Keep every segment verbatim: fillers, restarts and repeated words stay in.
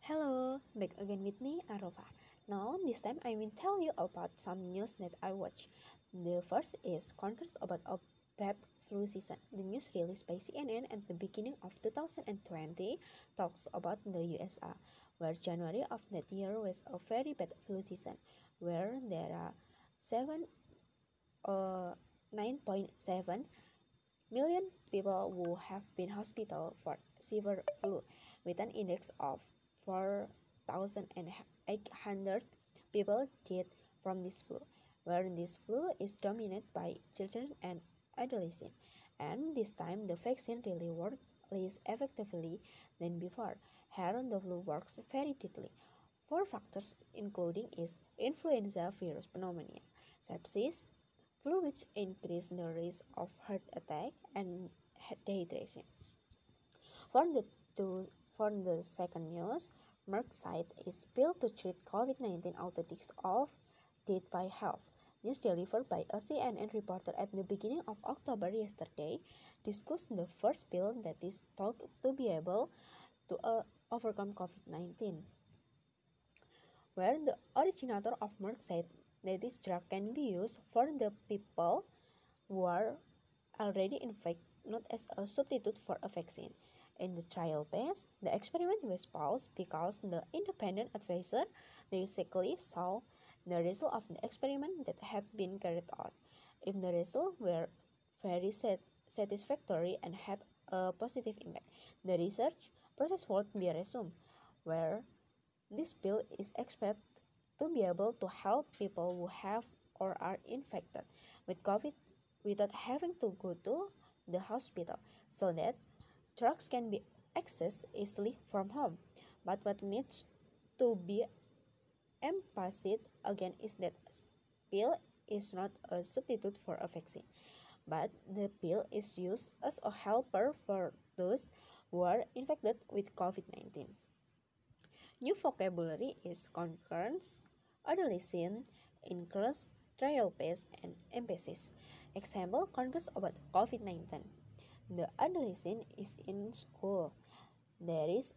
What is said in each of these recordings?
Hello, back again with me, Arova. Now, this time I will tell you about some news that I watch. The first is concerns about a bad flu season. The news released by C N N at the beginning of two thousand twenty talks about the U S A, where January of that year was a very bad flu season, where there are seven, uh, nine point seven million people who have been hospital for severe flu, with an index of four thousand eight hundred people died from this flu, where this flu is dominated by children and adolescents. And this time the vaccine really worked less effectively than before. Here the flu works very deadly. Four factors including is influenza virus pneumonia, sepsis, flu which increase the risk of heart attack and dehydration. For the two, for the second news, Merck site is built to treat COVID nineteen outbreaks of death by health. News delivered by a C N N reporter at the beginning of October yesterday discussed the first pill that is thought to be able to uh, overcome COVID nineteen, where the originator of Merck said that this drug can be used for the people who are already infected, not as a substitute for a vaccine. In the trial phase, the experiment was paused because the independent advisor basically saw the result of the experiment that had been carried out. If the results were very sat- satisfactory and had a positive impact, the research process would be resumed, where this pill is expected to be able to help people who have or are infected with COVID without having to go to the hospital, so that drugs can be accessed easily from home. But what needs to be emphasized again is that pill is not a substitute for a vaccine, but the pill is used as a helper for those who are infected with COVID nineteen. New vocabulary is concurrence, adolescent, increase, trial phase, and emphasis. Example, concurrence about COVID nineteen. The adolescent is in school. There is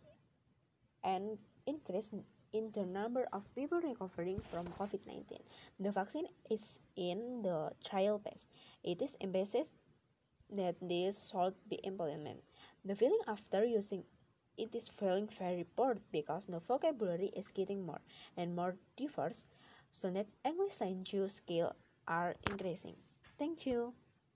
an increase in the number of people recovering from COVID nineteen. The vaccine is in the trial phase. It is emphasized that this should be implemented. The feeling after using it is feeling very bored because the vocabulary is getting more and more diverse, so that English language skills are increasing. Thank you.